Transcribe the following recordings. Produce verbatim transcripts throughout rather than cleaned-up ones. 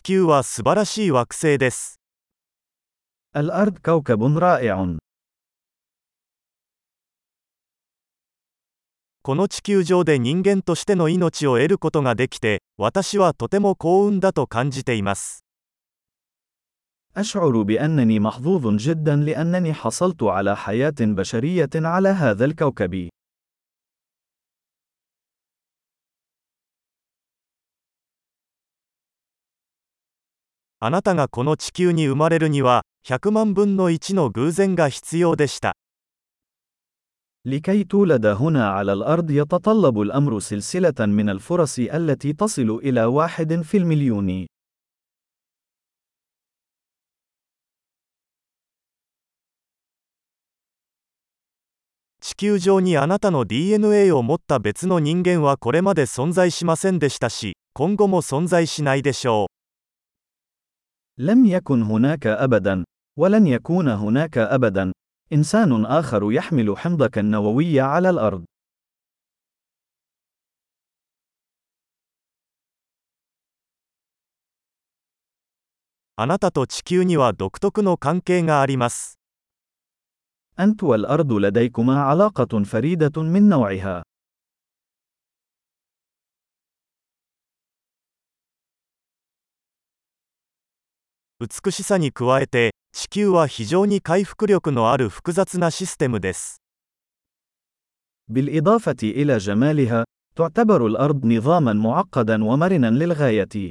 球は素晴らしい惑星です。 الأرض كوكب رائع. この地球上で人間としての命を得ることができて、私はとても幸運だと感じています。 أشعر بأنني محظوظ جدا لأنني حصلت على حياة بشرية على هذا الكوكب. あなたがこの地球に生まれるには、ひゃくまんぶんのいちの偶然が必要でした。 لكي تولد هنا على الأرض يتطلب الأمر سلسلة من الفرص التي تصل إلى واحد في المليون. 地球上にあなたの ディーエヌエー を持った別の人間はこれまで存在しませんでしたし、今後も存在しないでしょう。 لم يكن هناك أبدا، ولن يكون هناك أبدا، إنسان آخر يحمل حمضك النووي على الأرض. あなたと地球には独特の関係があります。 أنت والأرض لديكما علاقة فريدة من نوعها. 美しさに加えて、地球は非常に回復力のある複雑なシステムです。 بالإضافة إلى جمالها، تعتبر الأرض نظاماً معقداً ومرناً للغاية.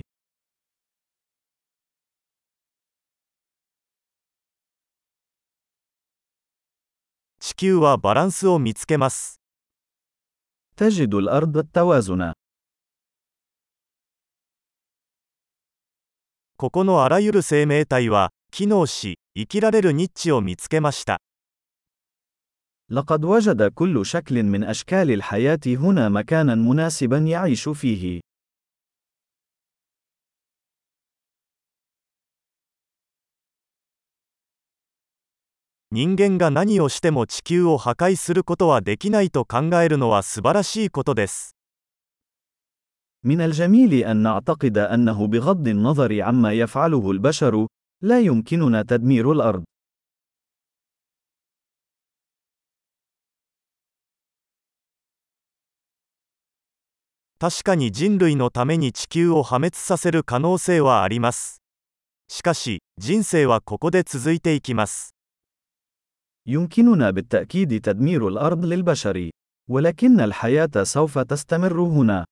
地球はバランスを見つけます。 تجد الأرض التوازن. ここのあらゆる生命体は、機能し、生きられるニッチを見つけました。 لقد وجد كل شكل من أشكال الحياة هنا مكاناً مناسباً يعيش فيه. 人間が何をしても地球を破壊することはできないと考えるのは素晴らしいことです。 من الجميل أن نعتقد أنه بغض النظر عما يفعله البشر، لا يمكننا تدمير الأرض. 確かに人類のために地球を破滅させる可能性はあります。しかし、人生はここで続いていきます。 يمكننا بالتأكيد تدمير الأرض للبشر، ولكن الحياة سوف تستمر هنا.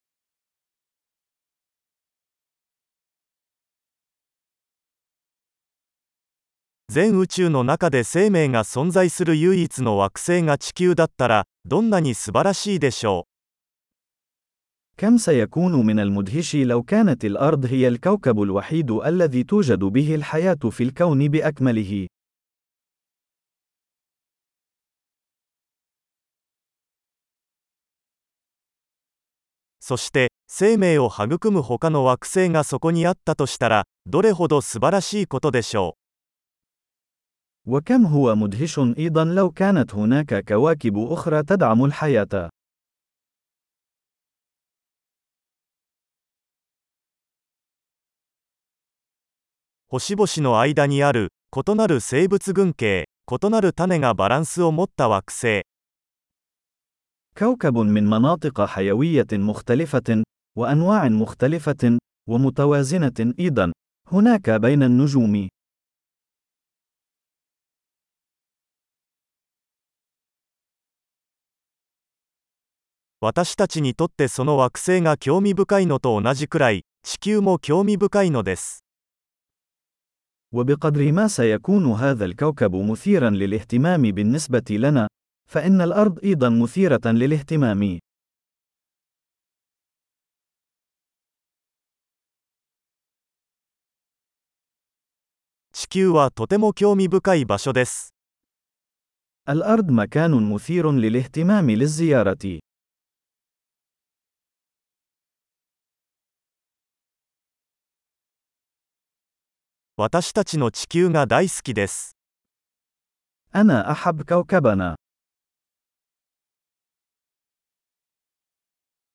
全宇宙の中で生命が存在する唯一の惑星が地球だったら、どんなに素晴らしいでしょう。 كم سيكون من المدهش لو كانت الأرض هي الكوكب الوحيد الذي توجد به الحياة في الكون بأكمله. そして、生命を育む他の惑星がそこにあったとしたら、どれほど素晴らしいことでしょう。وكم هو مدهش أيضا لو كانت هناك كواكب أخرى تدعم الحياة. 星々の間にある異なる生物群系、異なる種がバランスを持った惑星。 كوكب من مناطق حيوية مختلفة، وأنواع مختلفة، ومتوازنة أيضا، هناك بين النجوم. 私たちにとってその惑星が興味深いのと同じくらい、地球も興味深いのです。 وبقدر ما سيكون هذا الكوكب مثيرا للاهتمام بالنسبة لنا، فإن الأرض أيضا مثيرة للاهتمام. 地球はとても興味深い場所です。 الأرض مكان مثير للاهتمام للزيارة. 私たちの地球が大好きです。 أنا أحب كوكبنا.